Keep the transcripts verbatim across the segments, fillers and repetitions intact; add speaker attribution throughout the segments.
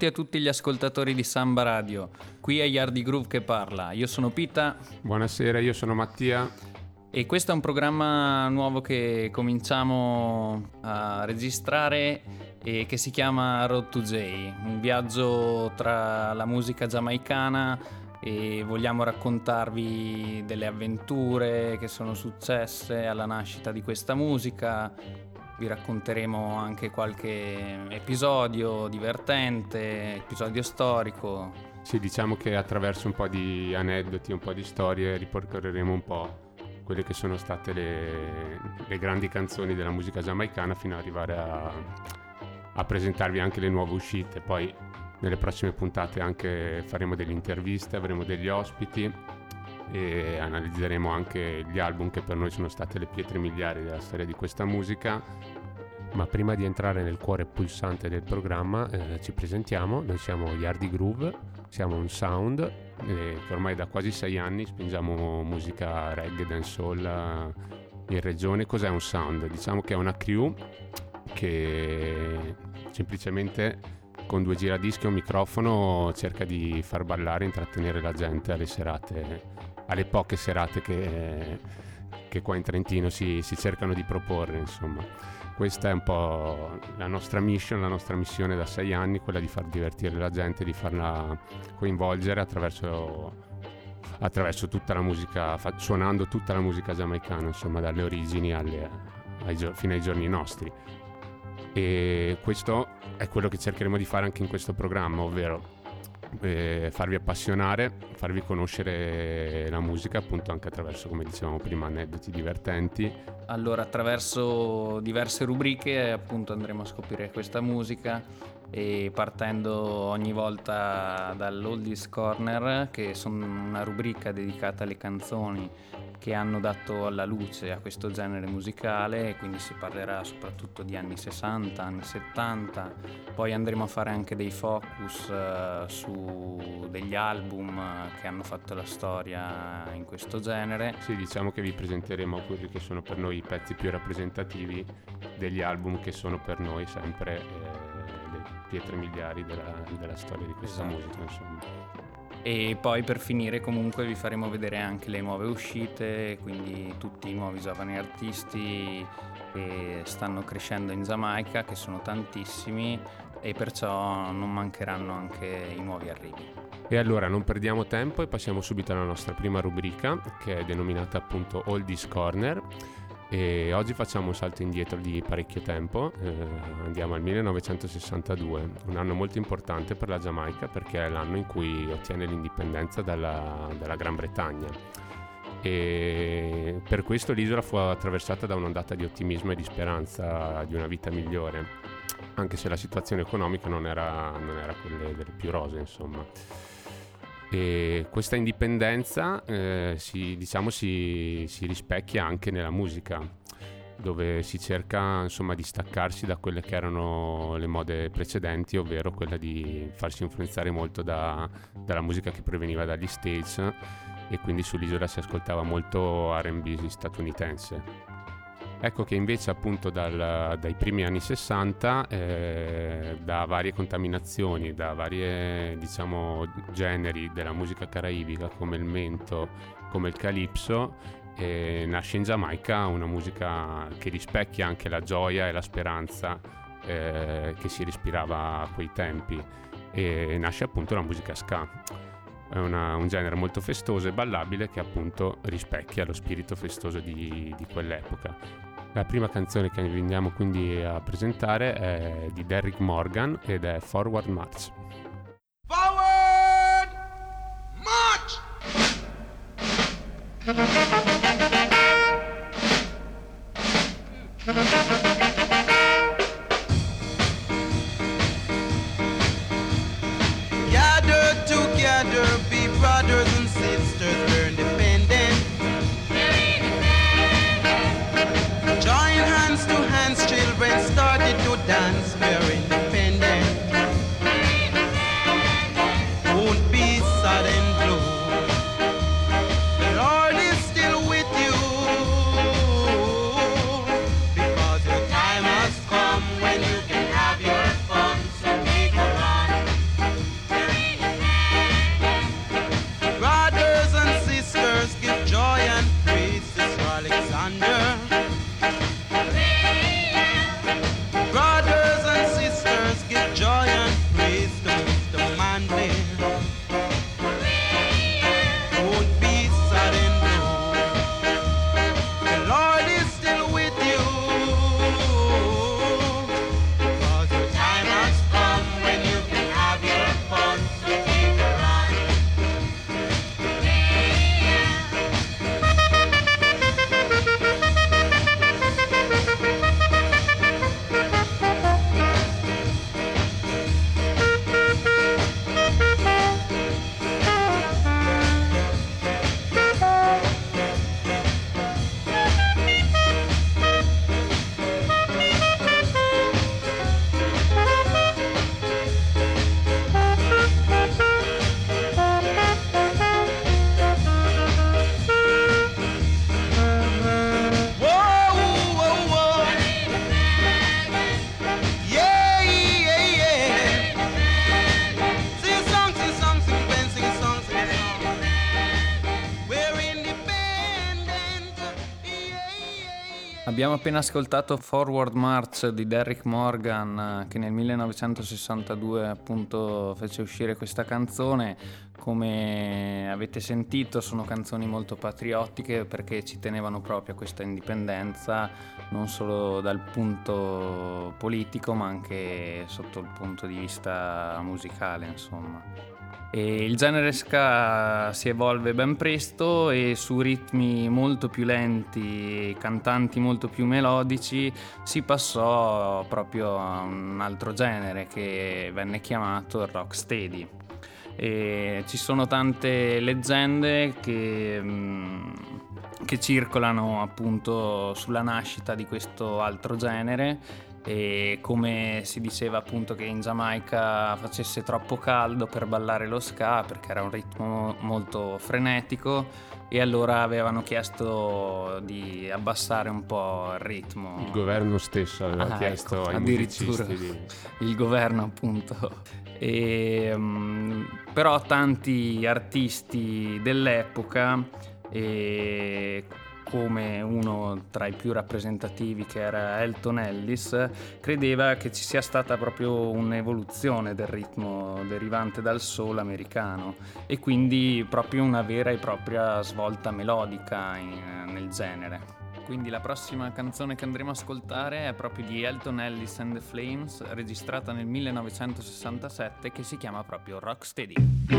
Speaker 1: benvenuti a tutti gli ascoltatori di Samba Radio. Qui è Yardi Groove che parla. Io sono Pita.
Speaker 2: Buonasera, io sono Mattia.
Speaker 1: E questo è un programma nuovo che cominciamo a registrare e che si chiama Road to Jay, un viaggio tra la musica giamaicana, e vogliamo raccontarvi delle avventure che sono successe alla nascita di questa musica. Vi racconteremo anche qualche episodio divertente, episodio storico.
Speaker 2: Sì, diciamo che attraverso un po' di aneddoti, un po' di storie ripercorreremo un po' quelle che sono state le, le grandi canzoni della musica giamaicana fino ad arrivare a, a presentarvi anche le nuove uscite. Poi nelle prossime puntate anche faremo delle interviste, avremo degli ospiti e analizzeremo anche gli album che per noi sono state le pietre miliari della storia di questa musica. Ma prima di entrare nel cuore pulsante del programma eh, ci presentiamo. Noi siamo Yardi Groove, siamo un sound eh, che ormai da quasi sei anni spingiamo musica reggae, dancehall eh, in regione. Cos'è un sound? Diciamo che è una crew che semplicemente con due giradischi e un microfono cerca di far ballare e intrattenere la gente alle serate, alle poche serate che, che qua in Trentino si, si cercano di proporre, insomma. Questa è un po' la nostra mission, la nostra missione da sei anni, quella di far divertire la gente, di farla coinvolgere attraverso, attraverso tutta la musica, fa, suonando tutta la musica giamaicana, insomma, dalle origini alle, ai, fino ai giorni nostri. E questo è quello che cercheremo di fare anche in questo programma, ovvero eh, farvi appassionare, farvi conoscere la musica, appunto anche attraverso, come dicevamo prima, aneddoti divertenti.
Speaker 1: Allora, attraverso diverse rubriche appunto andremo a scoprire questa musica, e partendo ogni volta dall'Oldies Corner, che sono una rubrica dedicata alle canzoni che hanno dato alla luce a questo genere musicale, e quindi si parlerà soprattutto di anni sessanta, anni settanta. Poi andremo a fare anche dei focus uh, su degli album che hanno fatto la storia in questo genere.
Speaker 2: Sì, diciamo che vi presenteremo quelli che sono per noi i pezzi più rappresentativi degli album che sono per noi sempre eh, le pietre miliari della, della storia di questa esatto. musica, insomma.
Speaker 1: E poi per finire comunque vi faremo vedere anche le nuove uscite, quindi tutti i nuovi giovani artisti che stanno crescendo in Giamaica, che sono tantissimi, e perciò non mancheranno anche i nuovi arrivi.
Speaker 2: E allora non perdiamo tempo e passiamo subito alla nostra prima rubrica, che è denominata appunto Oldies Corner. E oggi facciamo un salto indietro di parecchio tempo, eh, andiamo al millenovecentosessantadue, un anno molto importante per la Giamaica perché è l'anno in cui ottiene l'indipendenza dalla, dalla Gran Bretagna, e per questo l'isola fu attraversata da un'ondata di ottimismo e di speranza di una vita migliore, anche se la situazione economica non era, non era quelle delle più rosee, insomma. E questa indipendenza eh, si, diciamo, si, si rispecchia anche nella musica, dove si cerca, insomma, di staccarsi da quelle che erano le mode precedenti, ovvero quella di farsi influenzare molto da, dalla musica che proveniva dagli States, e quindi sull'isola si ascoltava molto R and B statunitense. Ecco che invece appunto dal, dai primi anni sessanta, eh, da varie contaminazioni, da varie, diciamo, generi della musica caraibica come il mento, come il calypso, eh, nasce in Giamaica una musica che rispecchia anche la gioia e la speranza eh, che si respirava a quei tempi, e nasce appunto la musica ska. È una, un genere molto festoso e ballabile che appunto rispecchia lo spirito festoso di, di quell'epoca. La prima canzone che vi andiamo quindi a presentare è di Derrick Morgan ed è Forward March.
Speaker 3: Forward March! Gather together, be brothers and sisters, we're independent. Join hands to hands, children started to dance, we're independent. Won't be sad and blue. The Lord is still
Speaker 1: Abbiamo appena ascoltato Forward March di Derrick Morgan, che nel millenovecentosessantadue appunto fece uscire questa canzone. Come avete sentito, sono canzoni molto patriottiche perché ci tenevano proprio a questa indipendenza, non solo dal punto politico ma anche sotto il punto di vista musicale, insomma. E il genere ska si evolve ben presto e su ritmi molto più lenti e cantanti molto più melodici si passò proprio a un altro genere che venne chiamato il rocksteady. E ci sono tante leggende che, che circolano appunto sulla nascita di questo altro genere, e come si diceva appunto che in Giamaica facesse troppo caldo per ballare lo ska perché era un ritmo molto frenetico, e allora avevano chiesto di abbassare un po' il ritmo.
Speaker 2: Il governo stesso aveva ah, chiesto ecco, ai
Speaker 1: addirittura
Speaker 2: musicisti di...
Speaker 1: il governo appunto. E, um, però tanti artisti dell'epoca, e come uno tra i più rappresentativi che era Elton Ellis, credeva che ci sia stata proprio un'evoluzione del ritmo derivante dal soul americano e quindi proprio una vera e propria svolta melodica in, nel genere. Quindi la prossima canzone che andremo a ascoltare è proprio di Elton Ellis and the Flames, registrata nel millenovecentosessantasette, che si chiama proprio Rocksteady.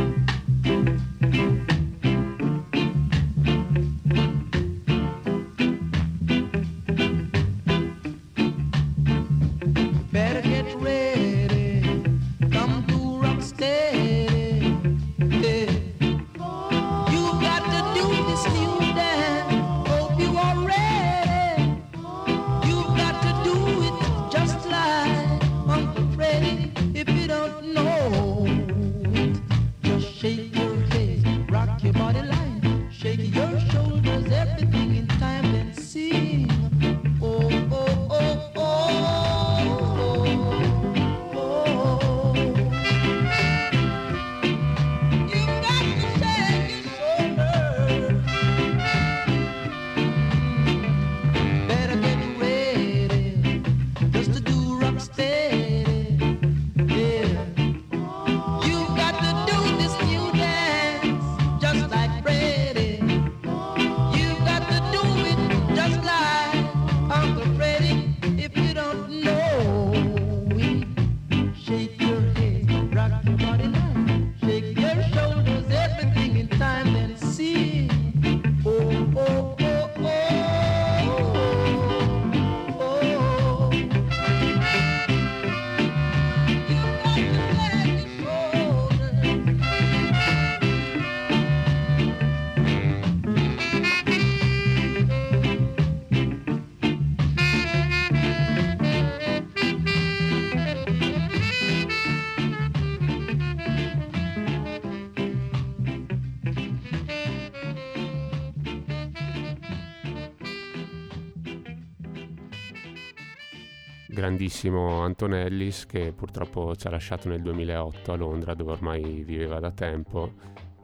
Speaker 2: Grandissimo Anton Ellis, che purtroppo ci ha lasciato nel duemilaotto a Londra, dove ormai viveva da tempo,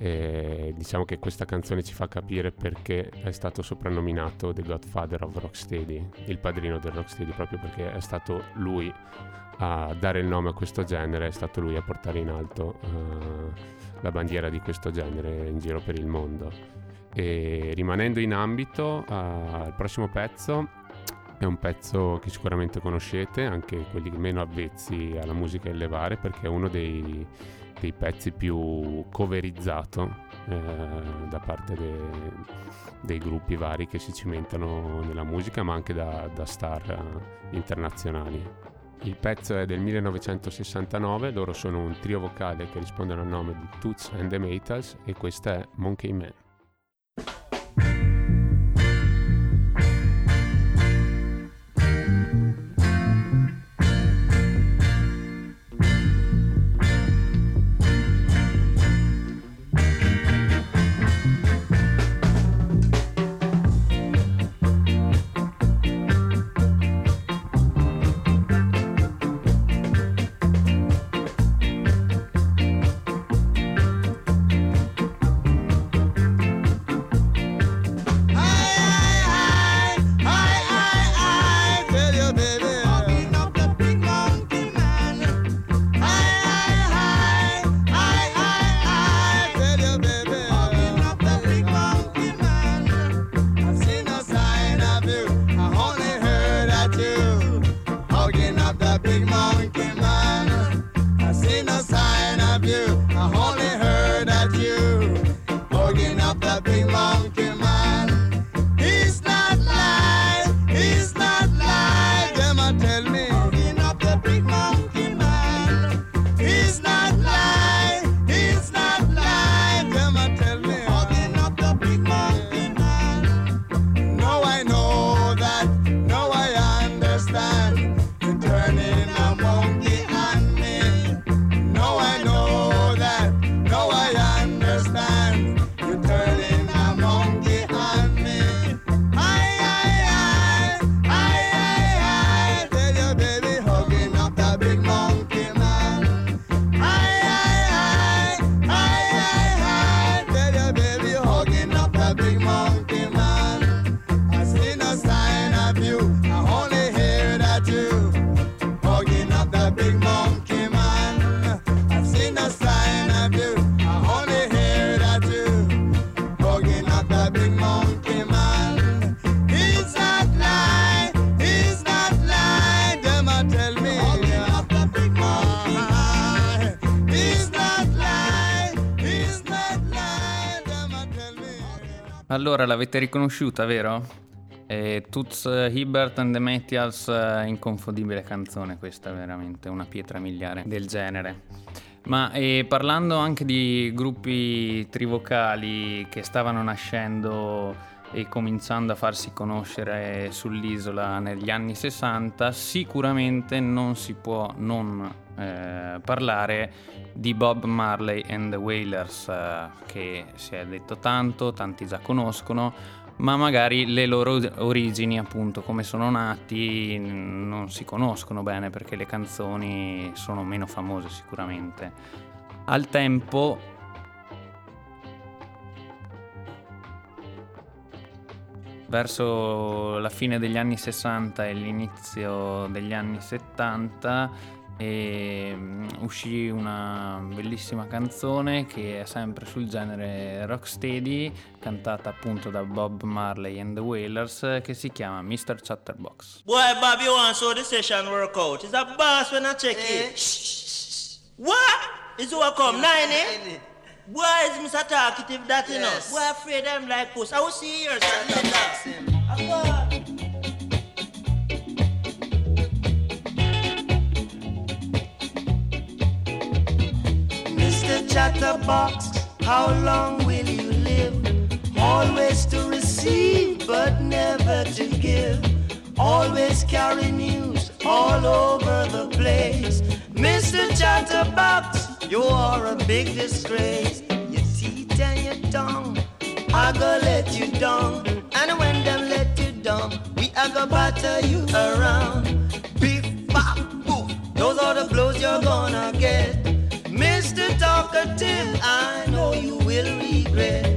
Speaker 2: e diciamo che questa canzone ci fa capire perché è stato soprannominato The Godfather of Rocksteady, il padrino del rocksteady, proprio perché è stato lui a dare il nome a questo genere, è stato lui a portare in alto uh, la bandiera di questo genere in giro per il mondo. E rimanendo in ambito, uh, il prossimo pezzo è un pezzo che sicuramente conoscete, anche quelli meno avvezzi alla musica in levare, perché è uno dei, dei pezzi più coverizzato eh, da parte de, dei gruppi vari che si cimentano nella musica, ma anche da, da star internazionali. Il pezzo è del millenovecentosessantanove, loro sono un trio vocale che rispondono al nome di Toots and the Maytals, e questa è Monkey Man.
Speaker 3: the big monkey man. He's not live, he's not live. Them a tell me, hugging up the big monkey man. He's not live, he's not live. Them a tell me, hugging up the big monkey man. Now I know that, now I understand. You're turning a monkey on me. Now I know that, now I understand. You're turning a monkey on me. I, I, I, I, I, tell your baby hugging up the big monkey man. I, I, I, I, I, tell your baby hugging up the big monkey man. I see no sign of you, I only hear that you hugging up the big monkey man. I see no sign of you, I only hear that you hugging up the big monkey man. He's not lying, he's not lying. Them a tell me hugging up the big monkey man. He's not lying, he's not lying. Them a tell me.
Speaker 1: Allora, l'avete riconosciuta, vero? Eh, Toots Hibbert and the Maytals, eh, inconfondibile canzone, questa è veramente una pietra miliare del genere. Ma eh, parlando anche di gruppi trivocali che stavano nascendo e cominciando a farsi conoscere sull'isola negli anni sessanta, sicuramente non si può non eh, parlare di Bob Marley and the Wailers, eh, che si è detto tanto, tanti già conoscono, ma magari le loro origini, appunto, come sono nati, non si conoscono bene perché le canzoni sono meno famose sicuramente. Al tempo verso la fine degli anni sessanta e l'inizio degli anni settanta e uscì una bellissima canzone che è sempre sul genere rocksteady, cantata appunto da Bob Marley and the Wailers, che si chiama mister Chatterbox.
Speaker 4: Boy, Bob, you want so the session work out? It's a boss when I check it. What? Is who I come? Nine, eh? Boy, is Mister Talkative that, you know? Boy, afraid them like puss. I will see yours.
Speaker 3: Mister Chatterbox, how long will you live? Always to receive, but never to give. Always carry news all over the place. Mister Chatterbox, you are a big disgrace. Your teeth and your tongue, I go let you down. And when them let you down, we a go batter you around. Beef, bop, boof, those are the blows you're gonna get. Mister Talkative, I know you will regret.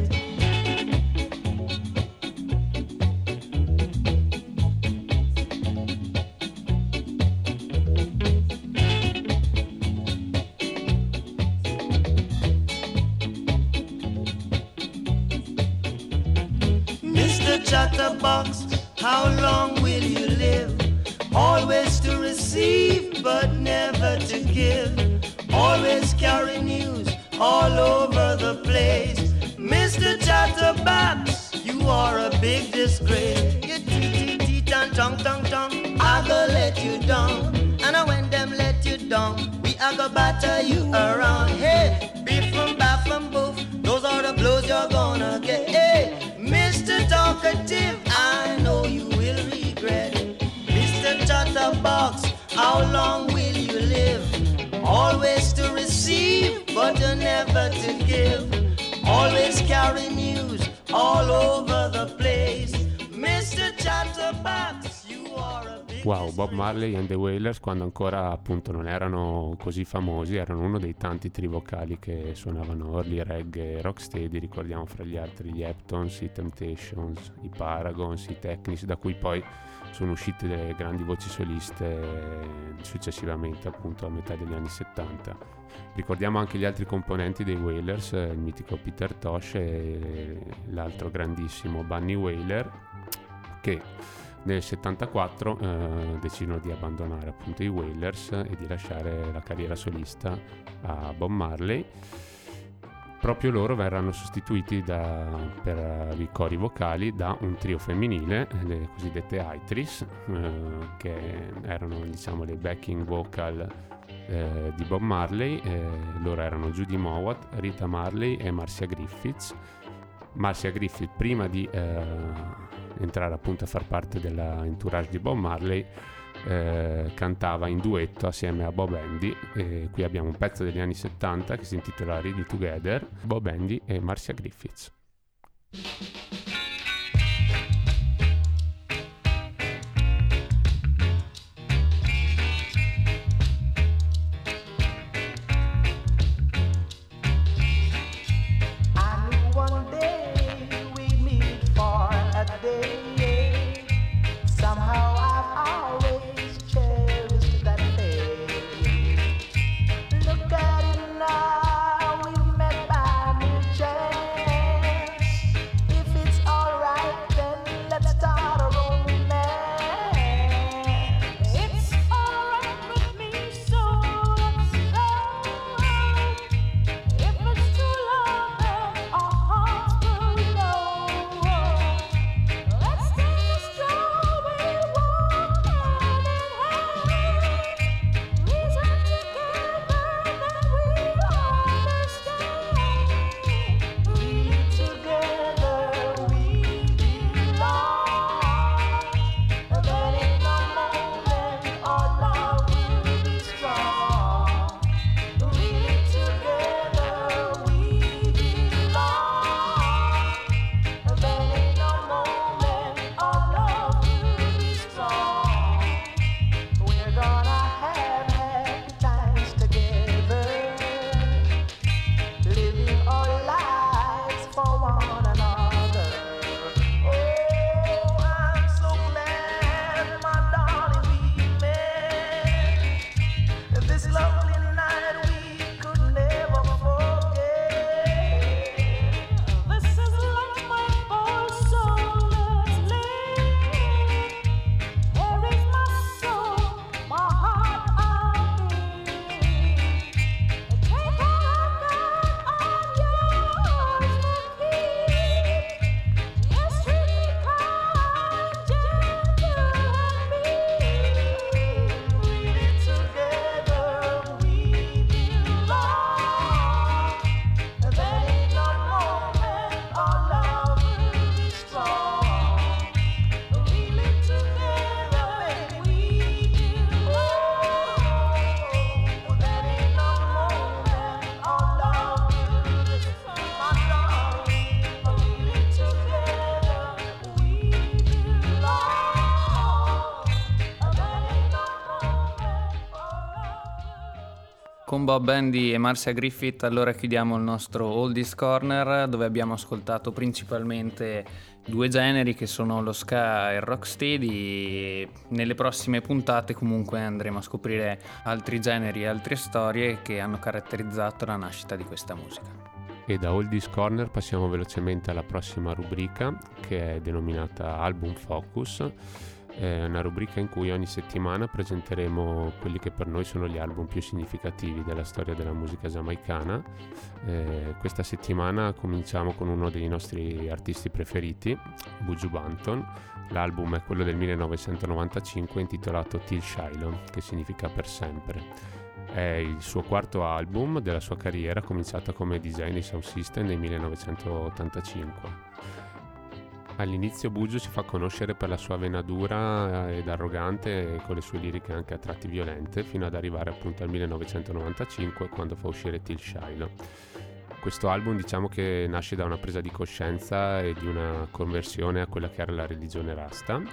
Speaker 3: Mister Chatterbox, how long will you live? Always to receive, but never to give. Always carry news all over the place. Mister Chatterbox, you are a big disgrace. Your teeth, teeth and tongue, tongue, tongue, I go let you down. And when them let you down, we a go batter you around. Hey, beef and baff and boof, those are the blows you're gonna get. Hey, Mister Talkative, I know you will regret. Mister Chatterbox, how long will you live? Always to receive, but never to give. Always carry news all over the place. Mister Chatterbox, you are a big...
Speaker 2: Wow, Bob Marley and the Wailers, quando ancora appunto non erano così famosi, erano uno dei tanti trivocali che suonavano early reggae e rocksteady. Ricordiamo fra gli altri gli Heptons, i Temptations, i Paragons, i Technics, da cui poi sono uscite delle grandi voci soliste successivamente, appunto a metà degli anni settanta. Ricordiamo anche gli altri componenti dei Wailers, il mitico Peter Tosh e l'altro grandissimo Bunny Wailer, che nel settantaquattro eh, decidono di abbandonare appunto i Wailers e di lasciare la carriera solista a Bob Marley. proprio loro verranno sostituiti da, per i cori vocali da un trio femminile, le cosiddette Aitris, eh, che erano, diciamo, le backing vocal eh, di Bob Marley. Eh, loro erano Judy Mowat, Rita Marley e Marcia Griffiths. Marcia Griffith, prima di eh, entrare appunto a far parte della entourage di Bob Marley, eh, cantava in duetto assieme a Bob Andy, e qui abbiamo un pezzo degli anni settanta che si intitola Ready Together, Bob Andy e Marcia Griffiths.
Speaker 1: Con Bob Andy e Marcia Griffith allora chiudiamo il nostro Oldies Corner, dove abbiamo ascoltato principalmente due generi che sono lo ska e il rocksteady, e nelle prossime puntate comunque andremo a scoprire altri generi e altre storie che hanno caratterizzato la nascita di questa musica.
Speaker 2: E da Oldies Corner passiamo velocemente alla prossima rubrica, che è denominata Album Focus. È una rubrica in cui ogni settimana presenteremo quelli che per noi sono gli album più significativi della storia della musica giamaicana. Eh, questa settimana cominciamo con uno dei nostri artisti preferiti, Buju Banton. L'album è quello del millenovecentonovantacinque intitolato Till Shiloh, che significa per sempre. È il suo quarto album della sua carriera, cominciata come design di Sound System nel millenovecentottantacinque. All'inizio Buju si fa conoscere per la sua vena dura ed arrogante, e con le sue liriche anche a tratti violente, fino ad arrivare appunto al millenovecentonovantacinque, quando fa uscire Till Shiloh. Questo album, diciamo che nasce da una presa di coscienza e di una conversione a quella che era la religione Rasta,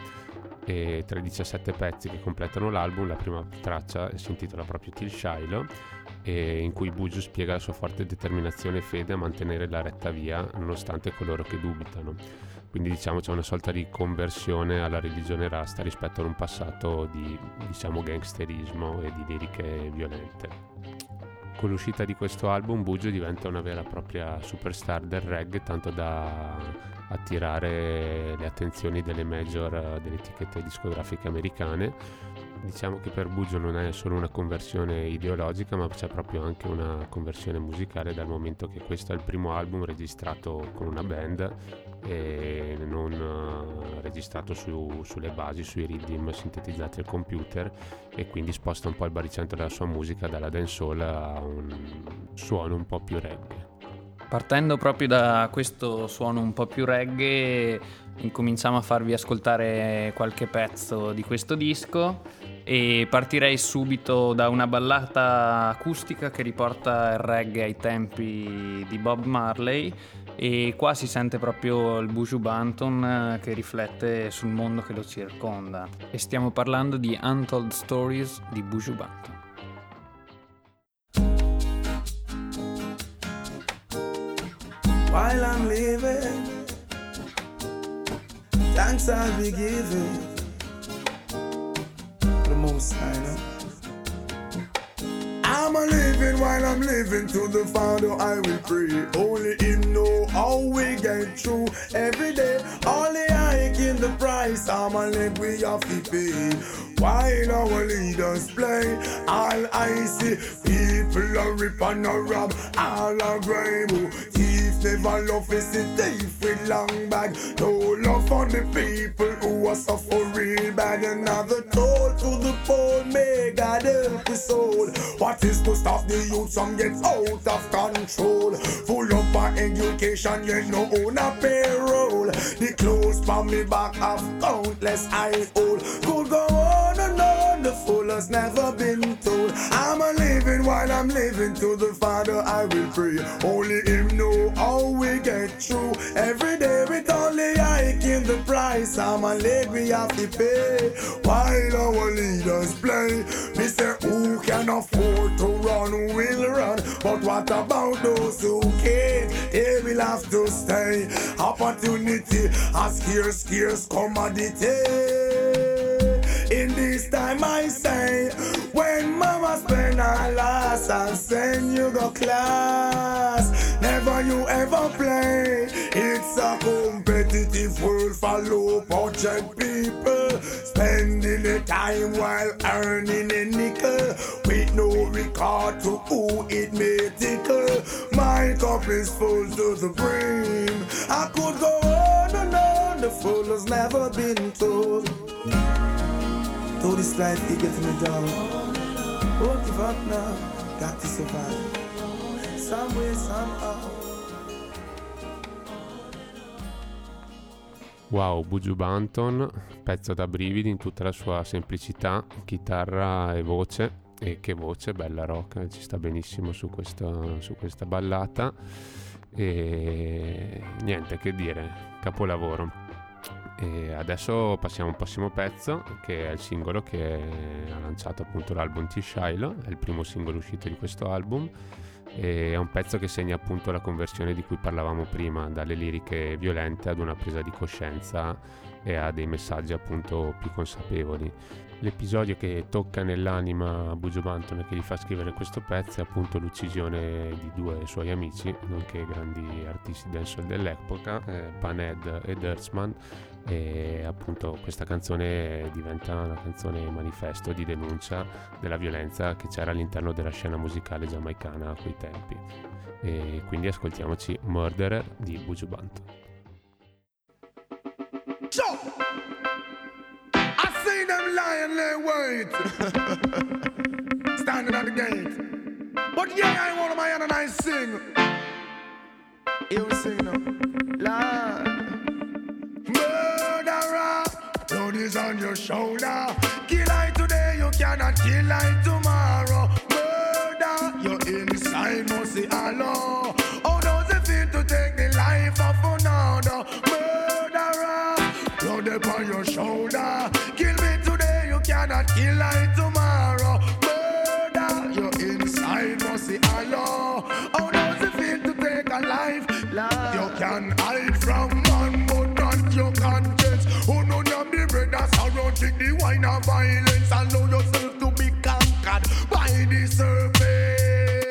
Speaker 2: e tra i diciassette pezzi che completano l'album la prima traccia si intitola proprio Till Shiloh, e in cui Buju spiega la sua forte determinazione e fede a mantenere la retta via nonostante coloro che dubitano. Quindi diciamo c'è una sorta di conversione alla religione Rasta rispetto ad un passato di, diciamo, gangsterismo e di liriche violente. Con l'uscita di questo album Buju diventa una vera e propria superstar del reggae, tanto da attirare le attenzioni delle major, delle etichette discografiche americane. Diciamo che per Buju non è solo una conversione ideologica, ma c'è proprio anche una conversione musicale, dal momento che questo è il primo album registrato con una band e non uh, registrato su, sulle basi, sui rhythm sintetizzati al computer, e quindi sposta un po' il baricentro della sua musica dalla dancehall a un suono un po' più reggae.
Speaker 1: Partendo proprio da questo suono un po' più reggae, incominciamo a farvi ascoltare qualche pezzo di questo disco, e partirei subito da una ballata acustica che riporta il reggae ai tempi di Bob Marley, e qua si sente proprio il Buju Banton che riflette sul mondo che lo circonda, e stiamo parlando di Untold Stories di Buju Banton.
Speaker 5: While I'm living, thanks I'll be giving the most I know. I'm a living while I'm living, to the Father I will pray. Only Him know how we get through every day. Only I in the price, I'm a leg we have to pay. While our leaders play, all I see, people are rip and a rob, all are grime. Thief never love is a thief with long bag. No love for the people who are suffer real bad. Another toll to the poor, may God help his soul. What is to stop the youth from get out of control? Full up our education, yet no own a payroll. The clothes from me back have countless I old. Could go on and on, the fool has never been told. I'm a living while I'm living, to the Father I will pray. Only Him know how we get through every day, with only I in the price. I'm a leg we have to pay. While our leaders play, me say who can afford to run will run, but what about those who can't? They will have to stay. Opportunity a scarce, scarce commodity. In this time I say, when mama spend her last and send you go class, never you ever play. It's a competitive world for low budget people, spending the time while earning a nickel, with no regard to who it may tickle. My cup is full to the brim. I could go on and on, the fool has never been told. Though this life is getting me down, won't give up now, got to survive, some way, somehow.
Speaker 2: Wow, Buju Banton, pezzo da brividi in tutta la sua semplicità, chitarra e voce, e che voce, bella rock, ci sta benissimo su, questo, su questa ballata, e niente che dire, capolavoro. E adesso passiamo al prossimo pezzo, che è il singolo che ha lanciato appunto l'album T-Shiloh, è il primo singolo uscito di questo album, e è un pezzo che segna appunto la conversione di cui parlavamo prima, dalle liriche violente ad una presa di coscienza e a dei messaggi appunto più consapevoli. L'episodio che tocca nell'anima Buju Banton e che gli fa scrivere questo pezzo è appunto l'uccisione di due suoi amici, nonché grandi artisti dancehall dell'epoca, eh, Panhead e Dirtsman, e appunto questa canzone diventa una canzone manifesto di denuncia della violenza che c'era all'interno della scena musicale giamaicana a quei tempi. E quindi ascoltiamoci Murderer di Buju Banton.
Speaker 5: Them lying they wait standing at the gate, but yeah, I want my hand and I sing. Here we sing now. Lord, murderer, blood is on your shoulder. Kill I today, you cannot kill I tomorrow. Murder, your inside must see Allah. How does it feel to take the life of another? Murderer, blood upon your shoulder. Kill me today, you cannot kill I tomorrow. Murder, your inside must see Allah. How does it feel to take a life? Love. You can hide from man, but not your conscience. Who know you be brothers around, take the wine of violence. Allow yourself to be conquered by the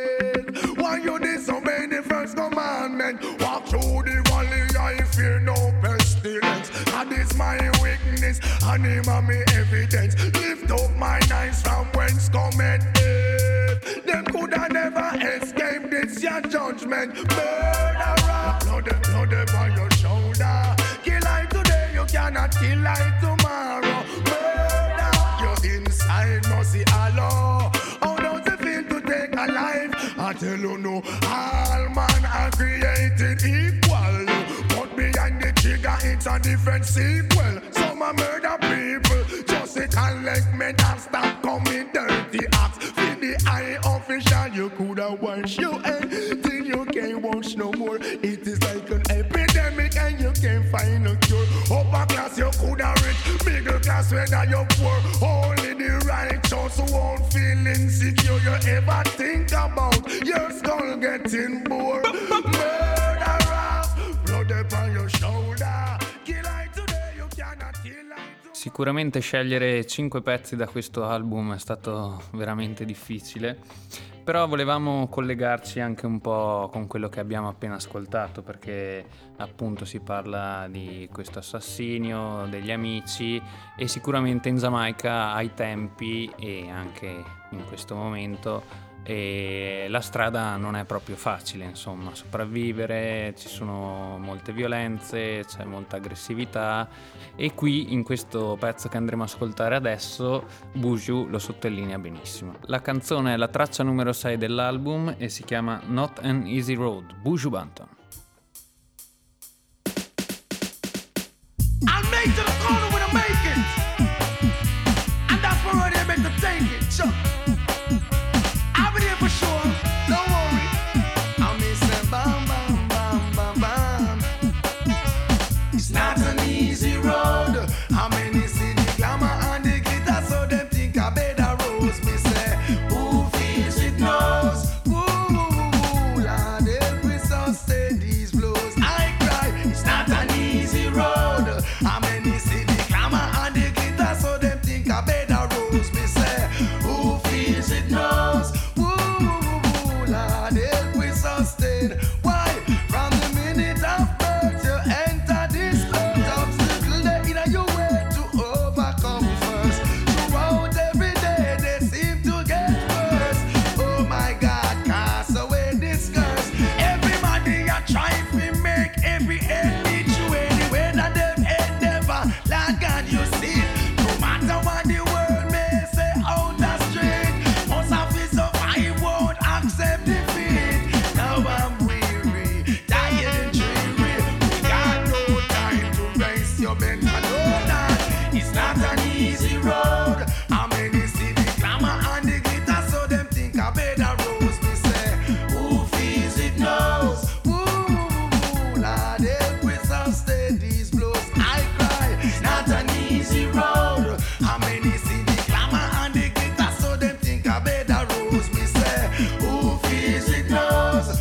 Speaker 5: serpent. Why you disobey the first commandment? Walk through the valley, I fear no God is my witness, and him and me evidence. Lift up my eyes from whence cometh death. Them coulda never escape this your judgment. Murderer, blood, blood on your shoulder. Kill I today, you cannot kill I tomorrow. Murder, your inside must see Allah. How does it feel to take a life? I tell you no, all man are created equal. But behind the trigger it's a different sequel. Some a murder people, just it and let me not stop coming dirty acts. For the eye official, you coulda wash your head till you can't wash no more. It is like an epidemic and you can't find a cure. Upper class you coulda rich, middle class whether you poor. Only the righteous who won't feel insecure. You ever think about your skull getting bored? Murderer, blood upon your shoulder. Kill I today, you cannot kill I tomorrow.
Speaker 1: Sicuramente scegliere cinque pezzi da questo album è stato veramente difficile, però volevamo collegarci anche un po' con quello che abbiamo appena ascoltato, perché appunto si parla di questo assassinio, degli amici, e sicuramente in Giamaica ai tempi e anche in questo momento e la strada non è proprio facile, insomma, sopravvivere, ci sono molte violenze, c'è molta aggressività, e qui in questo pezzo che andremo a ascoltare adesso Buju lo sottolinea benissimo. La canzone è la traccia numero sei dell'album e si chiama Not an Easy Road, Buju Banton.
Speaker 5: I'll make to the corner when I make it, and that's where they're meant to take it. Sure. I'll be there for sure, don't worry. I'll miss them, bam, bam, bam, bam, bam. It's not an easy road. How many see the glamour and the glitter, so them think I better rose. Me say, who feels it knows. Ooh, ooh, ooh, Lord, help me sustain these blows. I cry, it's not an easy road. How many see the glamour and the glitter, so them think I better rose. Me say, who feels it knows. Why? From the minute of birth you enter this earth, obstacle they in your way to overcome first. Throughout every day they seem to get worse. Oh my God, cast away this curse. Everybody are trying to make every end meet you anyway that them endeavor. Lord God, you see it. No matter what the world may say out the street, most of it so I won't accept defeat. Now I'm weary, tired and dreary. We got no time to race your mental. No, that it's not an easy road. How many see the glamour and the glitter, so them think I better rose. Me say, who feels it knows. Ooh, ooh, ooh, Lord, help me sustain these blows. I cry, it's not an easy road. How many see the glamour and the glitter, so them think I better rose. Me say, who feels it knows.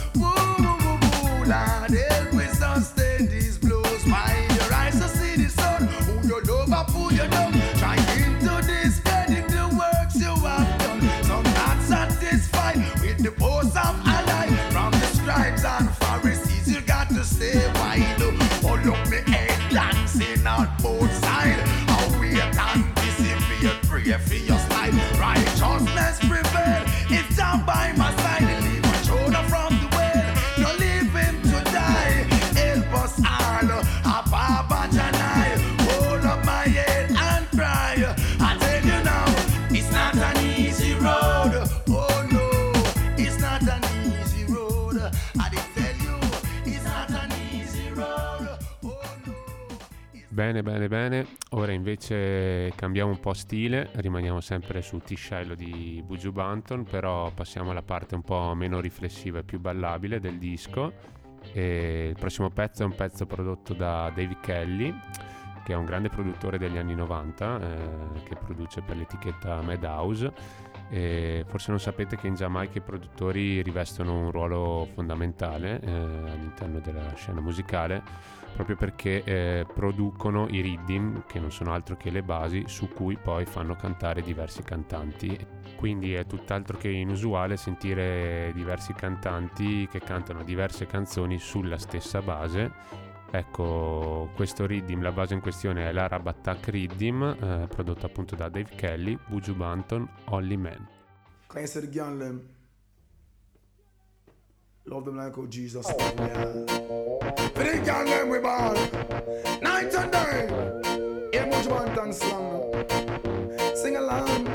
Speaker 5: Lord, help me sustain these blows. Find your eyes to see the sun. Who you love or who you don't. Try into discredit the works you have done. Some not satisfied with the post of ally. From the scribes and Pharisees you got to stay wide. Hold up me head dancing on both sides. How we anticipate, pray for your slide. Righteousness prevail. It's down by my side. Leave my shoulder from the well. No leave him to die. Help us all. Ababa Janai. Hold up my head and cry. I tell you now, it's not an easy road. Oh no, it's not an easy road. I did tell you, it's not an easy road. Oh no.
Speaker 2: Bene, bene, bene. Ora invece cambiamo un po' stile, rimaniamo sempre su T-Shello di Buju Banton, però passiamo alla parte un po' meno riflessiva e più ballabile del disco. E il prossimo pezzo è un pezzo prodotto da Dave Kelly, che è un grande produttore degli anni novanta, eh, che produce per l'etichetta Madhouse. E forse non sapete che in Giamaica i produttori rivestono un ruolo fondamentale eh, all'interno della scena musicale, proprio perché eh, producono i rhythm, che non sono altro che le basi su cui poi fanno cantare diversi cantanti. Quindi è tutt'altro che inusuale sentire diversi cantanti che cantano diverse canzoni sulla stessa base, Ecco, questo riddim, la base in questione è l'Arab Attack Riddim, eh, prodotto appunto da Dave Kelly, Buju Banton, Only Man.
Speaker 5: Can you say the girl them? Love them like how Jesus did, yeah. For the girl them we ball, night and day. Yeah, Buju Banton song. Sing along.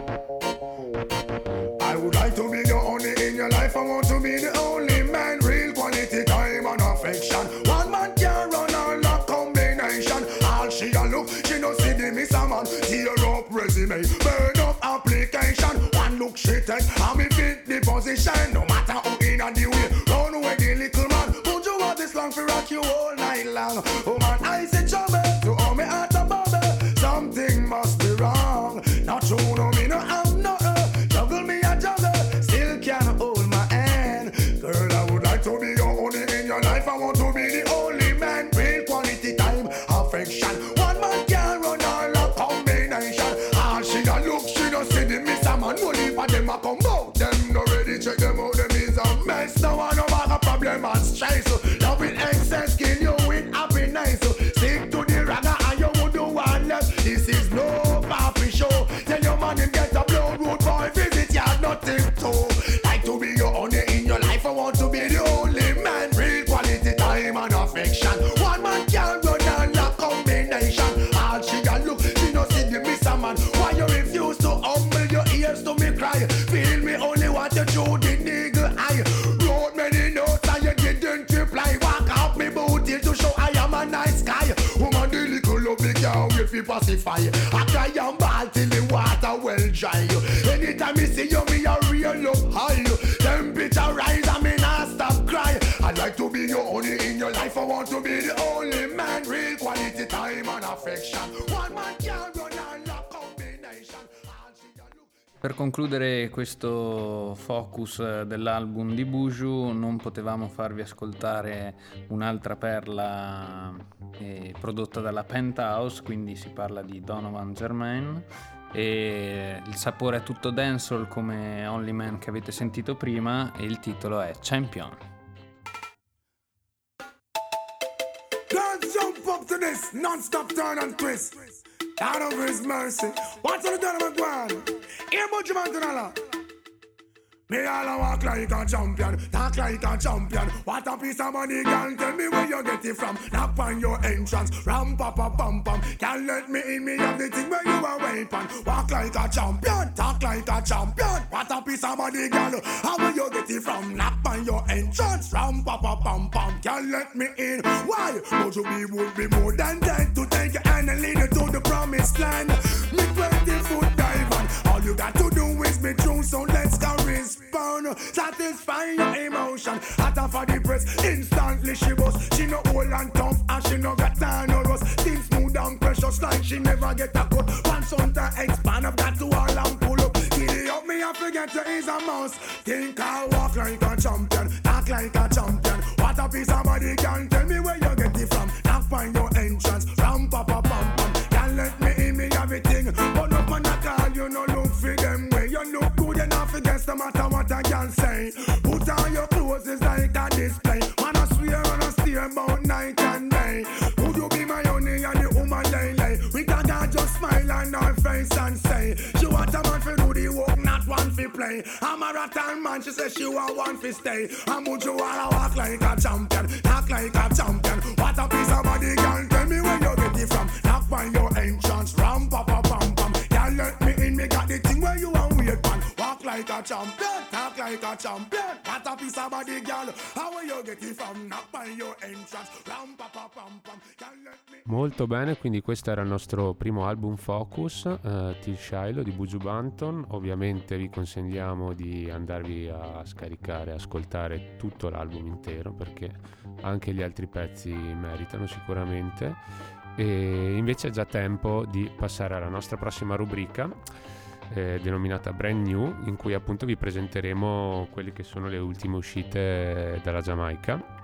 Speaker 5: I would like to be the only in your life. I want to be the only man. Real quality time and affection. One man can run all that combination. All she a look, she no see the miss a man. Tear up resume, burn up application. One look she take, and me fit the position. No matter who in and the way, run away the little man. Would you want this long for rock you all night long? Oh man, I say trouble to all me heart a bubble. Something must be wrong. Not true, no me no have no. Juggle me a juggle, still can't hold my hand. Girl, I would like to be your only in your life. I want to be the only man. Real quality time, affection. One man can run all a combination. All she a look, she don't see the miss a man. Only for them a come out. Them no ready, check them out. Them is a mess. No one no bag a problem and stress. Love with excess, kill you with happiness. Stick to the ragga and you would do one less. This is no papi show. Tell your man him get a blood road boy visit ya nothing to. Like to be your only in your life. I want to be the only man. Real quality time and affection. One man can run all a combination. All she a look, she no see the miss a man. Why you refuse to humble your ears to me cry? Feel me only want you through the niggle eye. Wrote many notes and you didn't reply. Walk out me booty to show I am a nice guy. Woman the little love me can't wait for pacify. I cry and ball till the water well dry. Anytime me see you me a real love high. Temperature rise and me not stop cry. I'd like to be your only in your life. I want to be the only man. Real quality time and affection. One man can run all a combination.
Speaker 1: Per concludere questo focus dell'album di Buju non potevamo farvi ascoltare un'altra perla eh, prodotta dalla Penthouse, quindi si parla di Donovan Germain, e il sapore è tutto dancehall come Only Man che avete sentito prima, e il titolo è Champion.
Speaker 5: Girls jump up to this non-stop turn and twist. Out of his mercy. What's on the Donovan Gwan? Here Buju Banton a lot. Me all a walk like a champion, talk like a champion. What a piece of money, girl, tell me where you get it from. Knock on your entrance, ram pa pa pam pam. Can't let me in, me have the thing where you are waiting. Walk like a champion, talk like a champion. What a piece of money, girl, how will you get it from? Knock on your entrance, ram pa pa pam pam. Can't let me in, why? Buju B would be more than dead to take your hand and lead you to the promised land. Me twenty foot dive on, all you got to do is be true, so let's go respond. Satisfy your emotion, hotter for the press, instantly she bust. She no old and tough and she no got time no rust. Still smooth and precious like she never get a cut. Pants on to expand, I've got to all and pull up. Giddy up me, I forget you is a mouse. Think I walk like a champion, talk like a champion. What a piece of body, can tell me where you get it from. Knock on your entrance, ram pa pa pam pam. Can't let me in, me everything. But up on that call, you no look for them way. You look good enough against the matter what I can say. Put on your clothes, it's like a display. Man, I swear and I steer about night and day. Would you be my only and the woman lay lay? We can just smile on her face and say she want a man for do the work, not one for play. I'm a rattan man, she says she want one for stay. And would you wanna walk like a champion, talk like a champion? What a piece of body, girl, tell me where you get it from. Knock on your entrance, ram pa pa pam pam. Can't let me in, me got the thing where you want weird man. Walk like a champion, talk like a champion. What a piece of body, girl, how will you get it from? Knock on your entrance, ram pa pa pam pam. Can't let me.
Speaker 2: Molto bene, quindi questo era il nostro primo album Focus, uh, Till Shiloh di Buju Banton. Ovviamente vi consigliamo di andarvi a scaricare, ascoltare tutto l'album intero, perché anche gli altri pezzi meritano sicuramente. E invece è già tempo di passare alla nostra prossima rubrica, eh, denominata Brand New, in cui appunto vi presenteremo quelle che sono le ultime uscite dalla Giamaica.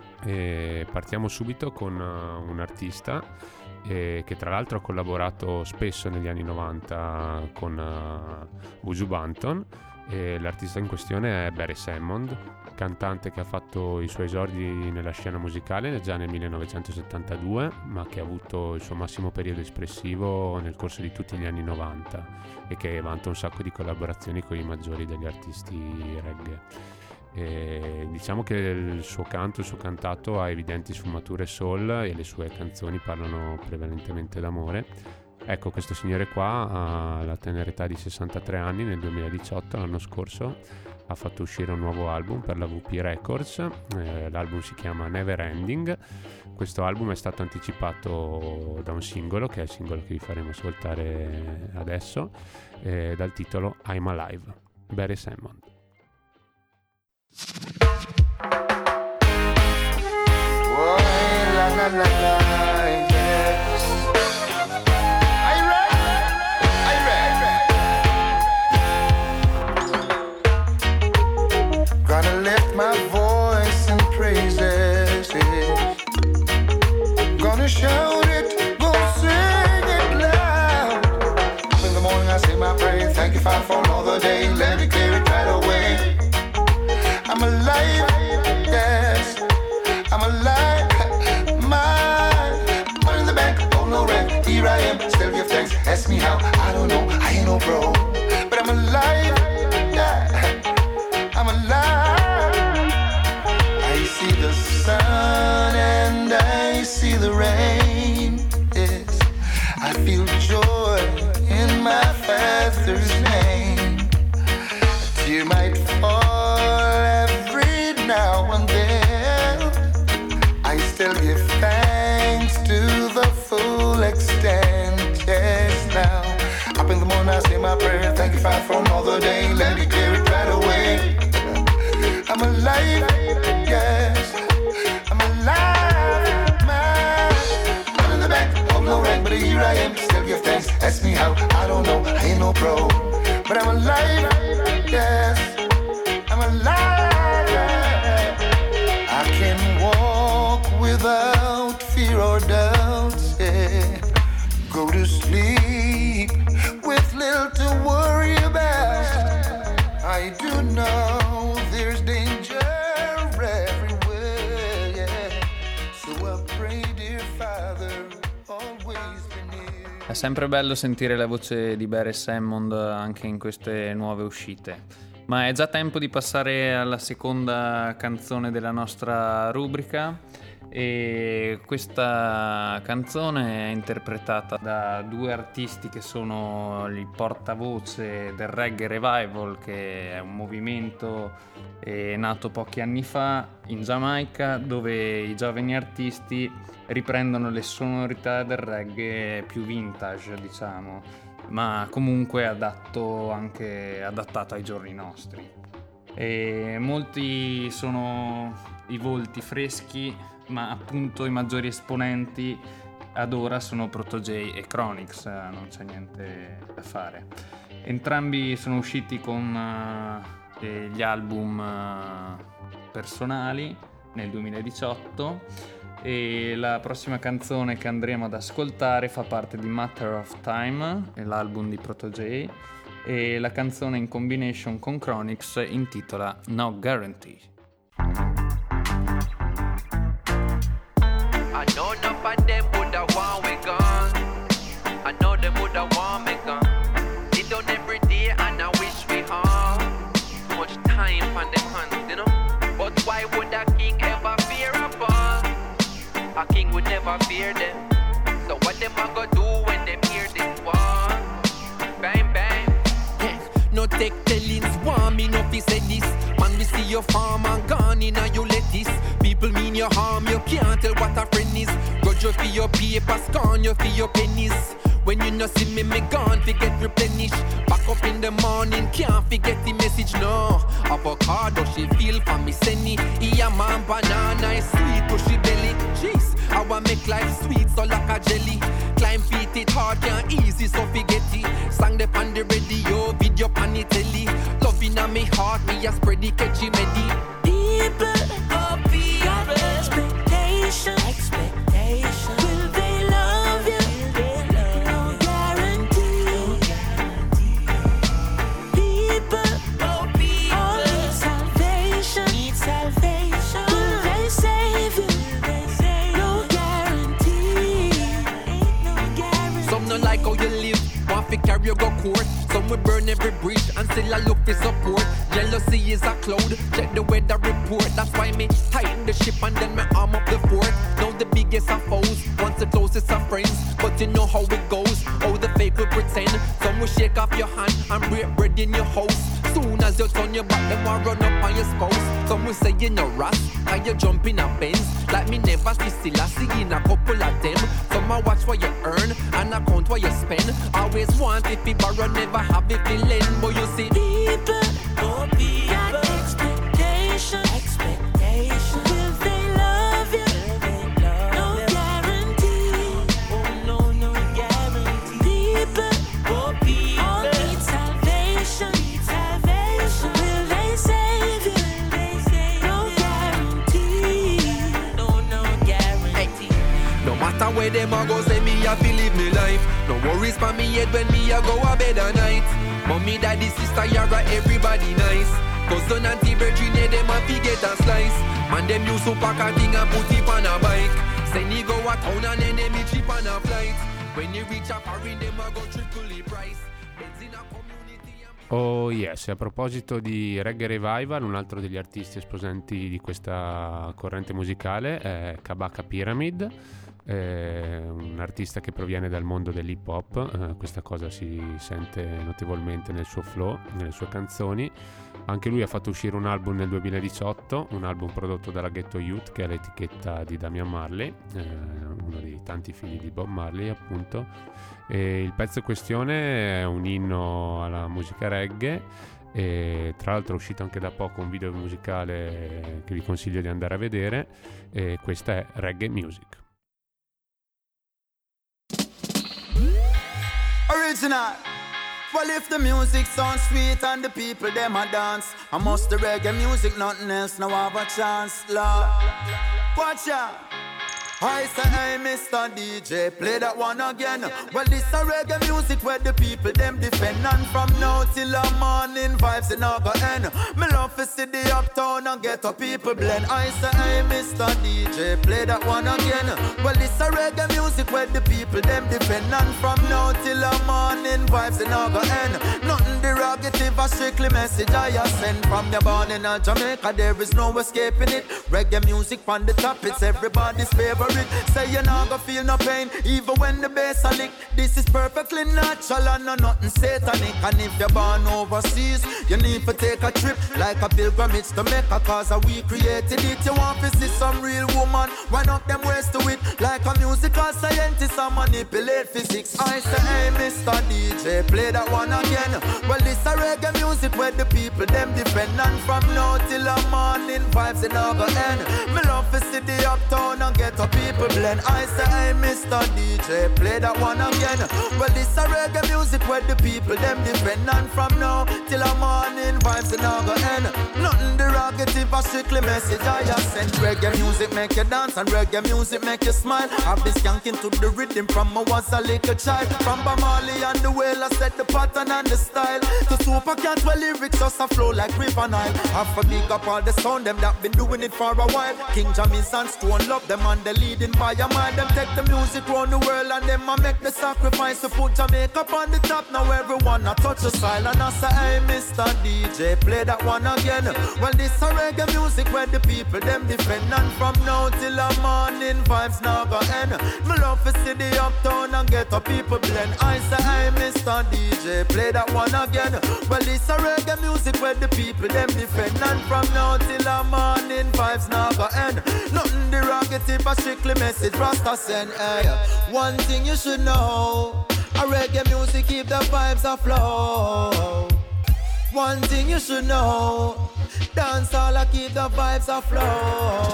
Speaker 2: E partiamo subito con uh, un artista eh, che tra l'altro ha collaborato spesso negli anni novanta con uh, Buju Banton, E l'artista in questione è Barry Hammond, cantante che ha fatto i suoi esordi nella scena musicale già nel millenovecentosettantadue, ma che ha avuto il suo massimo periodo espressivo nel corso di tutti gli anni novanta e che vanta un sacco di collaborazioni con i maggiori degli artisti reggae. E diciamo che il suo canto, il suo cantato ha evidenti sfumature soul e le sue canzoni parlano prevalentemente d'amore. Ecco, questo signore qua, alla tenera età di sessantatré anni, nel duemiladiciotto, l'anno scorso, ha fatto uscire un nuovo album per la V P Records. Eh, l'album si chiama Never Ending. Questo album è stato anticipato da un singolo, che è il singolo che vi faremo ascoltare adesso, eh, dal titolo I'm Alive, Barry Hammond.
Speaker 3: Boy, la la la la, yes. Are you ready? Are you ready? Gonna lift my voice in praises, yeah. Gonna shout it, gonna sing it loud. In the morning I say my prayer, thank you Father for another day. Let me clear it right away. I'm alive, yes, I'm alive. My money in the bank, oh no rent. Here I am, still give thanks. Ask me how, I don't know, I ain't no pro, but I'm alive, yeah, I'm alive. I see the sun and I see the rain, yes. I feel joy in my Father's name. A tear might fall now and then, I still give thanks to the full extent, yes now. Up in the morning I say my prayer, thank you Father for another day, let me clear it right away. I'm alive, yes, I'm alive. My money in the bank, oh no rent, but here I am, still give thanks. Ask me how, I don't know, I ain't no pro, but I'm alive, yes, I'm alive. I can walk without fear or doubt, yeah. Go to sleep with little to worry about. I do know there's danger everywhere, yeah. So I pray, dear Father, always be near.
Speaker 1: È sempre bello sentire la voce di Barry Hammond anche in queste nuove uscite. Ma è già tempo di passare alla seconda canzone della nostra rubrica, e questa canzone è interpretata da due artisti che sono il portavoce del Reggae Revival, che è un movimento eh, nato pochi anni fa in Giamaica, dove i giovani artisti riprendono le sonorità del reggae più vintage, diciamo, ma comunque adatto anche adattato ai giorni nostri. E molti sono i volti freschi, ma appunto i maggiori esponenti ad ora sono Proto-J e Chronixx, non c'è niente da fare. Entrambi sono usciti con uh, gli album uh, personali nel duemiladiciotto, e la prossima canzone che andremo ad ascoltare fa parte di Matter of Time, l'album di Proto-J, e la canzone in combination con Chronixx intitola No Guarantee.
Speaker 6: I know enough of them woulda want we gone. I know them woulda want me gone. Sit down every day and I wish we had too much time on them hands, you know. But why would a king ever fear a boss? A king would never fear them. So what them a go do when them hear this one? Bang bang.
Speaker 7: Yeah, no take tellings, want me no fi say this. Man, we see your farm and gone in and you let this. People mean your harm, you can't tell what a friend is. Grudge you for your paper, scorn you for your pennies. When you no see me, me gone, forget replenish. Back up in the morning, can't forget the message, no. Avocado, she feel for me, senny. Yeah, man, banana is sweet, pushy belly. Jeez, I want make life sweet, so like a jelly. Climb feet, it hard, can't easy, so forget it. Sang the on the radio, video pan the telly. Love in me heart, me a spread the catchy medi.
Speaker 8: People of your expectation, expectation. Will they love you? No guarantee. People of
Speaker 7: like how you live. Want to carry you go court. Some will burn every bridge and still I look for support. Jealousy is a cloud, check the weather report. That's why me tighten the ship and then me arm up the fort. Now the biggest of foes, once the closest of friends. But you know how it goes, how the fake will pretend. Some will shake off your hand and break bread in your house. Soon as you turn your back, them will run up on your spouse. Some will say you no ras, how you jump in a Benz. Like me never see still I see in a couple of them. Some will watch what you earn and account what you spend. Always want if you borrow, never have if you lend. But you see
Speaker 8: people, oh people, got expectation, expectation. Will they love you? No guarantee. Oh no, no guarantee. People, oh people, all need salvation, salvation. Will they save you? No guarantee. No, no guarantee.
Speaker 7: no matter where them a go, say me a fi live me life. No worries for me head when me a go a bed at night. Mommy, daddy, sister, yara, everybody nice. Cousin, auntie, virgin, yeah, them a fi get a slice. Man, them use to pack a thing and put it on a bike. Send you go a town and then them cheap on a flight. When you reach a foreign, them a go triple the price. Benzina community and...
Speaker 2: Oh yes, a proposito di Reggae Revival, un altro degli artisti esponenti di questa corrente musicale è Kabaka Pyramid. È un artista che proviene dal mondo dell'hip hop, eh, questa cosa si sente notevolmente nel suo flow, nelle sue canzoni. Anche lui ha fatto uscire un album nel duemiladiciotto, un album prodotto dalla Ghetto Youth, che è l'etichetta di Damian Marley, eh, uno dei tanti figli di Bob Marley appunto. E il pezzo in questione è un inno alla musica reggae, e tra l'altro è uscito anche da poco un video musicale che vi consiglio di andare a vedere, e questa è Reggae Music.
Speaker 3: Original. Well, if the music sounds sweet and the people them a dance, I must the reggae music, nothing else now have a chance, Lord. Watch out. I say, hey, Mister D J, play that one again. Well, this a reggae music where the people them defend. And from now till the morning vibes in our end. Me love to see the uptown and get a people blend. I say, hey, Mister D J, play that one again. Well, this a reggae music where the people them defend. And from now till the morning vibes in our end. Nothing derogative, a strictly message I send. From your born in Jamaica, there is no escaping it. Reggae music on the top, it's everybody's favorite. Say you're not gonna feel no pain, even when the bass a lick. This is perfectly natural and no nothing satanic. And if you're born overseas, you need to take a trip, like a pilgrimage to Mecca, cause we created it. You want to see some real woman, wind up them ways to it, like a musical scientist and manipulate physics. I say, hey, Mister D J, play that one again. Well, this a reggae music where the people them defend. And from now till the morning vibes in our end. Me love to see the uptown and get up people blend. I say, hey, Mister D J, play that one again. Well, this a reggae music where the people them defend. And from now till the morning vibes in our end. Nothing derogative, a strictly message I just send. Reggae music make you dance and reggae music make you smile. I've been skanking to the rhythm from I was a little child. From Bob Marley and the Wailer set the pattern and the style. To Super Cat where lyrics just a flow like River Nile. Have a big up all the sound, them that been doing it for a while. King Jamis and Stone love them and the leading by a mile. Them take the music round the world and them a make the sacrifice to put Jamaica on the top. Now everyone a touch the style. And I say, hey, Mister D J, play that one again. Well, this a reggae music where the people them defend. And from now till the morning vibes now go end. Me love to see the uptown and get a people blend. I say, hey, Mister D J, play that one again. Well, this a reggae music where the people them defend. And from now till the morning vibes now go end. Nothing derogative, a strictly message Rasta send. Hey, one thing you should know, a reggae music keep the vibes afloat. One thing you should know, dance all a keep the vibes afloat.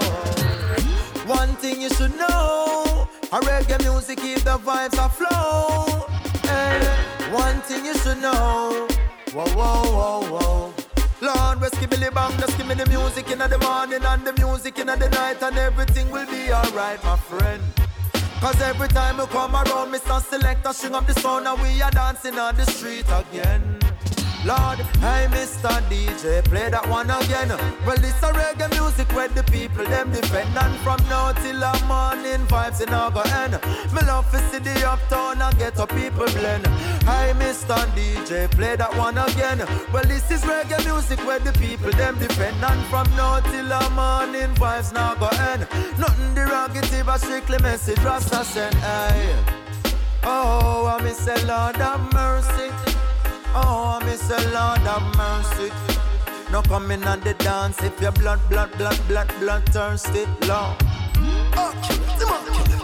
Speaker 3: One thing you should know, a reggae music keep the vibes afloat. Hey, one thing you should know, whoa, whoa, whoa, whoa. Lord, rescue Billy Bang, just give me the music in the morning and the music in the night, and everything will be alright, my friend. Cause every time we come around, Mister Selector string up the sound and we are dancing on the street again. Lord, hey Mister D J, play that one again. Well, this a reggae music where the people them defend. And from now till the morning vibes in our end. Me love to see the uptown and get a people blend. Hey Mister D J, play that one again. Well, this is reggae music where the people them defend. And from now till the morning vibes now go end. Nothing derogative, a strictly message Rasta send. Hey, oh, I miss a Lord have mercy. Oh, I miss a Lord have mercy. No coming on the dance if your blood, blood, blood, blood, blood thirsty, Lord. Oh, kill it, come on, kill it.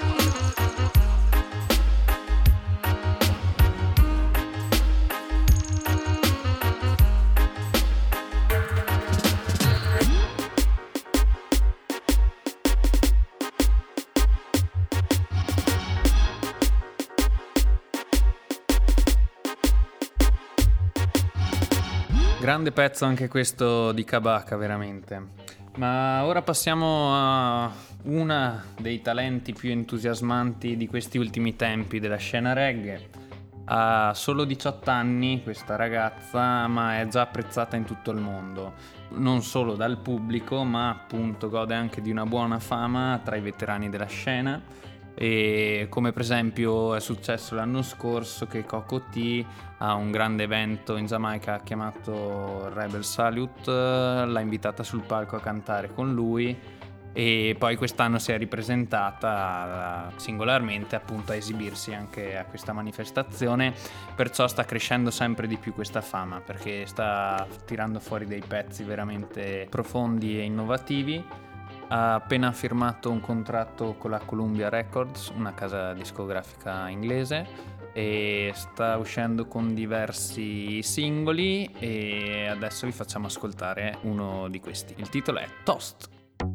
Speaker 1: Grande pezzo anche questo di Kabaka, veramente. Ma ora passiamo a una dei talenti più entusiasmanti di questi ultimi tempi della scena reggae. Ha solo diciotto anni questa ragazza, ma è già apprezzata in tutto il mondo. Non solo dal pubblico, ma appunto gode anche di una buona fama tra i veterani della scena. E come per esempio è successo l'anno scorso che Coco T a un grande evento in Giamaica chiamato Rebel Salute l'ha invitata sul palco a cantare con lui, e poi quest'anno si è ripresentata singolarmente appunto a esibirsi anche a questa manifestazione, perciò sta crescendo sempre di più questa fama perché sta tirando fuori dei pezzi veramente profondi e innovativi. Ha appena firmato un contratto con la Columbia Records, una casa discografica inglese, e sta uscendo con diversi singoli e adesso vi facciamo ascoltare uno di questi. Il titolo è Toast.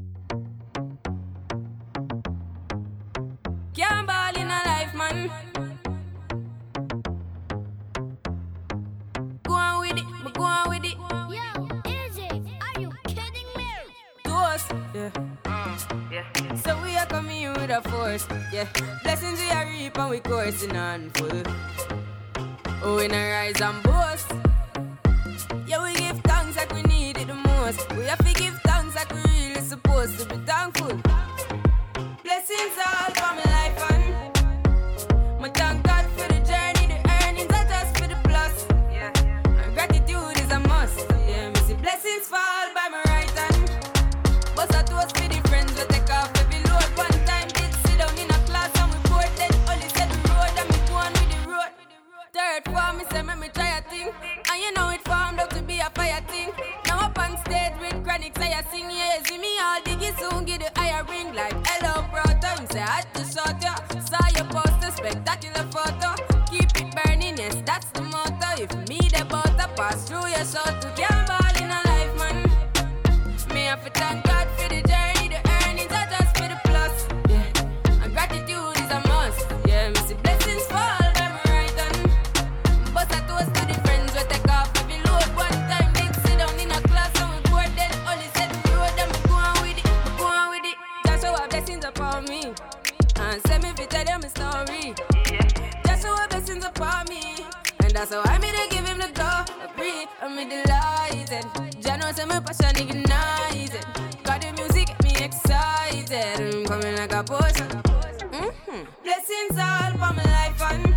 Speaker 9: Can't ball in a life, man. Go on with it, but go on with it.
Speaker 10: Yo, Izzy, are you kidding me?
Speaker 9: Toast, yeah. Yeah. So we are coming in with a force, yeah. Blessings we are reap and we coursing on full. Oh, we not rise and boast. Yeah, we give thanks like we need it the most. We have to give thanks like we really supposed to be thankful. Blessings all for my life and my thank God for the journey, the earnings are just for the plus. Yeah, and gratitude is a must. Yeah, me see blessings fall by my right hand. But I toast for the friends we take off every load. One time did sit down in a class and we bored then only said the road and me go on with the road. Third form me say me try a thing, and you know it formed out to be a fire thing. Now up on stage with chronics I sing, yeah, see me all diggy soon get the higher ring like hello brother. Him say I had to shot ya, saw your poster, spectacular photo. Keep it burning, yes that's the motto. If me the butter pass through your soul to can't ball in a life man. Me have to thank God for the journey, the earnings are just for the plus. Yeah, and gratitude is a must. Yeah, me see blessings fall by my right hand. But I toast to the friends we take off every load. One time did sit down in a class and we bored then only said the road and we go on with it, we go on with it. Just show our blessings upon me and send me to tell them a story. Just show our blessings upon me, and that's how I made to give him the glory. I'm delighted. Jah knows say my passion ignited. Got the music get me excited. I'm coming like a potion. Mm-hmm. Blessings all for my life and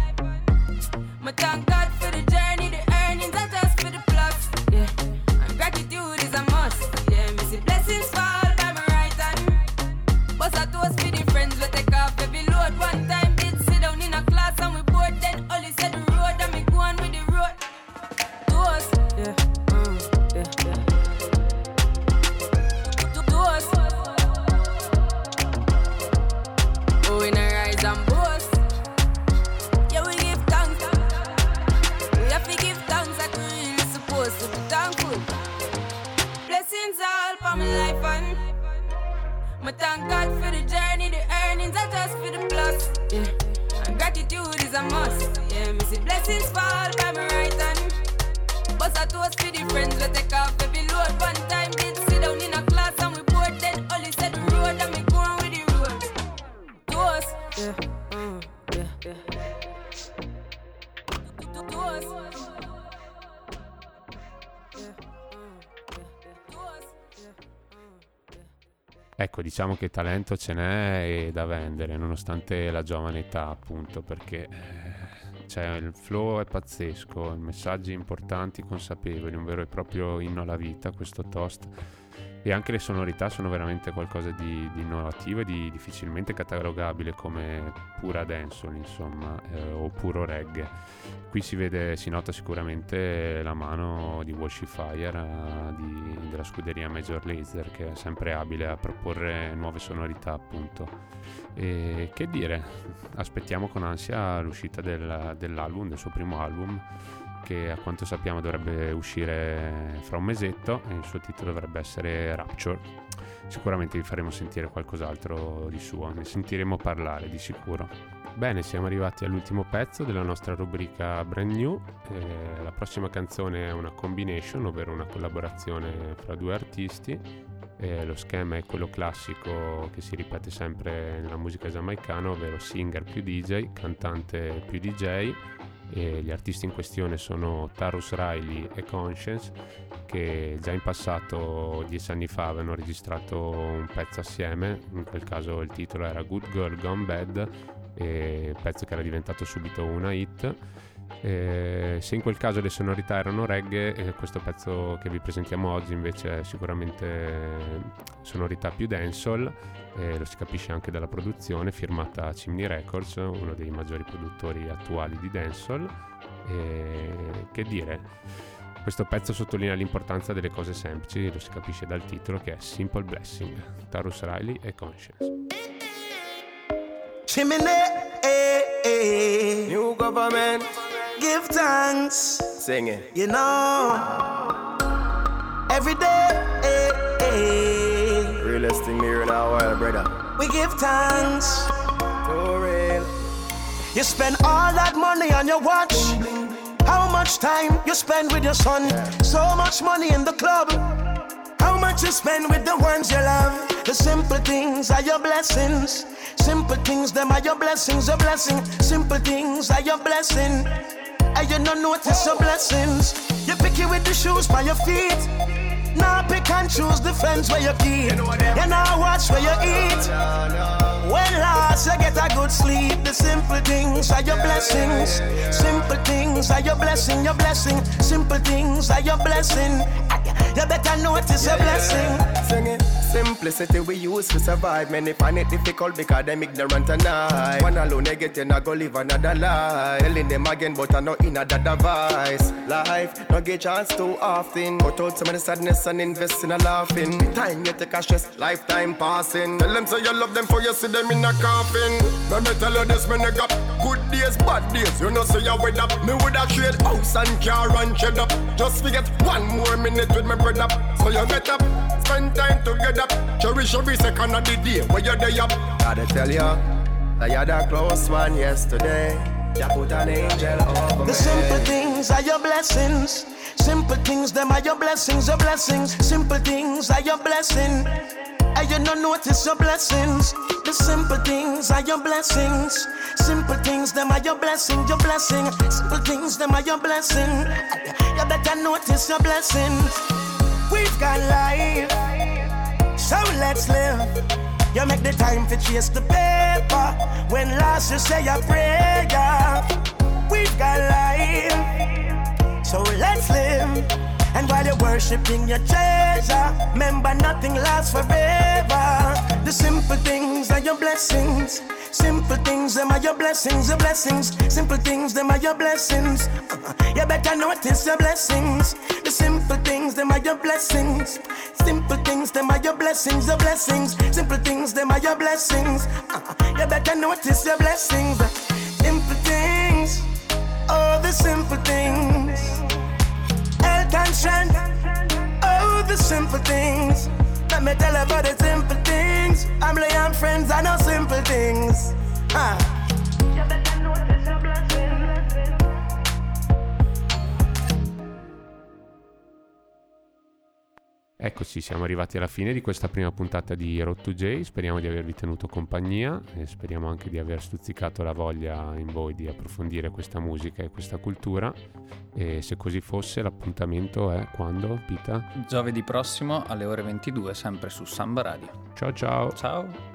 Speaker 9: my thank God for the journey, the earnings are just for the plus. Yeah, and gratitude is a must. Yeah, me see blessings fall by my right hand. But I toast for the friends we take off every load. One time did sit down in a class and we bored then only said the road and me go on with the road. Toast, yeah, mm, yeah, yeah. Toast. Oh, we not rise and boast. Yeah, we give thanks. We have to give thanks like we really supposed to be thankful. Blessings all for my life and my thank God for the journey, the earnings are just for the plus. Yeah, and gratitude is a must. Yeah, me see blessings fall by my right hand. But I toast for the friends we take off every load. One time did sit down in a class and we bored then only said the road and me go on with the road. Toast, yeah, mm, yeah, yeah. Toast.
Speaker 2: Ecco, diciamo che talento ce n'è e da vendere, nonostante la giovane età, appunto, perché eh, cioè, il flow è pazzesco, messaggi importanti, consapevoli, un vero e proprio inno alla vita, questo toast. E anche le sonorità sono veramente qualcosa di, di innovativo e di difficilmente catalogabile come pura dancehall, insomma, eh, o puro reggae. Qui si vede, si nota sicuramente la mano di Washifier, eh, di, della scuderia Major Lazer, che è sempre abile a proporre nuove sonorità, appunto. E che dire, aspettiamo con ansia l'uscita del, dell'album, del suo primo album, che a quanto sappiamo dovrebbe uscire fra un mesetto e il suo titolo dovrebbe essere Rapture. Sicuramente vi faremo sentire qualcos'altro di suo, ne sentiremo parlare di sicuro. Bene, siamo arrivati all'ultimo pezzo della nostra rubrica Brand New. Eh, la prossima canzone è una combination, ovvero una collaborazione fra due artisti. Eh, lo schema è quello classico che si ripete sempre nella musica giamaicana, ovvero singer più D J, cantante più D J. E gli artisti in questione sono Tarrus Riley e Conscience, che già in passato, dieci anni fa, avevano registrato un pezzo assieme. In quel caso il titolo era Good Girl Gone Bad, e pezzo che era diventato subito una hit. E se in quel caso le sonorità erano reggae, eh, questo pezzo che vi presentiamo oggi invece è sicuramente sonorità più dancehall. Eh, lo si capisce anche dalla produzione, firmata Chimney Records, uno dei maggiori produttori attuali di dancehall. E che dire, questo pezzo sottolinea l'importanza delle cose semplici, lo si capisce dal titolo, che è Simple Blessing, Tarrus Riley e Conscience.
Speaker 3: Chimney, eh, eh. New government, give thanks. Sing it. You know, every day, eh, eh. Realest thing here in our world, brother. We give thanks. For real. You spend all that money on your watch. How much time you spend with your son? So much money in the club. How much you spend with the ones you love? The simple things are your blessings. Simple things, them are your blessings, a blessing. Simple things are your blessing. And you don't notice your blessings. You pick it with the shoes by your feet. Now pick and choose the friends where you keep. You now watch where you eat. When last you get a good sleep. The simple things are your blessings. Simple things are your blessing, your blessing. Simple things are your blessing. You better notice your blessing. Sing it. Simplicity we use to survive. Many find it difficult because them ignorant and I. One alone they get in a go live another life. Telling them again but I know in a device. Life no get chance too often. Cut out some of the sadness and invest in a laughing. Time you take a stress, lifetime passing. Tell them say you love them for you see them in a coffin. Let me tell you this, man, I got good days, bad days. You know say you with up. Me would have trade house and car and shed up. Just forget one more minute with my bread up. So you get up, spend time together. Cherish every second of the day where you're there up. Gotta tell you, that you're the close one yesterday. You put an angel over me. The simple things are your blessings. Simple things, them are your blessings, your blessings. Simple things are your blessing. And you don't notice your blessings. The simple things are your blessings. Simple things, them are your blessing, your blessing. Simple things, them are your blessing. You better notice your blessings. We've got life, so let's live. You make the time to chase the paper. When last you say a prayer. We've got life, so let's live. And while you're worshipping your treasure, remember nothing lasts forever. The simple things are your blessings. Simple things, them are your blessings, your blessings. Simple things, them are your blessings. Uh-huh. You better notice your blessings. The simple things, them are your blessings. Simple things, them are your blessings, your blessings. Simple things, them are your blessings. Uh-huh. You better notice your blessings. Simple things, oh the simple things. Health and strength, oh the simple things. Let me tell you about the simple things. I'm laying friends, I know simple things. Huh. You better notice your blessing.
Speaker 2: Eccoci, siamo arrivati alla fine di questa prima puntata di Road to J. Speriamo di avervi tenuto compagnia e speriamo anche di aver stuzzicato la voglia in voi di approfondire questa musica e questa cultura. E se così fosse, l'appuntamento è quando, Pita?
Speaker 1: Giovedì prossimo alle ore ventidue, sempre su Samba Radio.
Speaker 2: Ciao ciao.
Speaker 1: Ciao.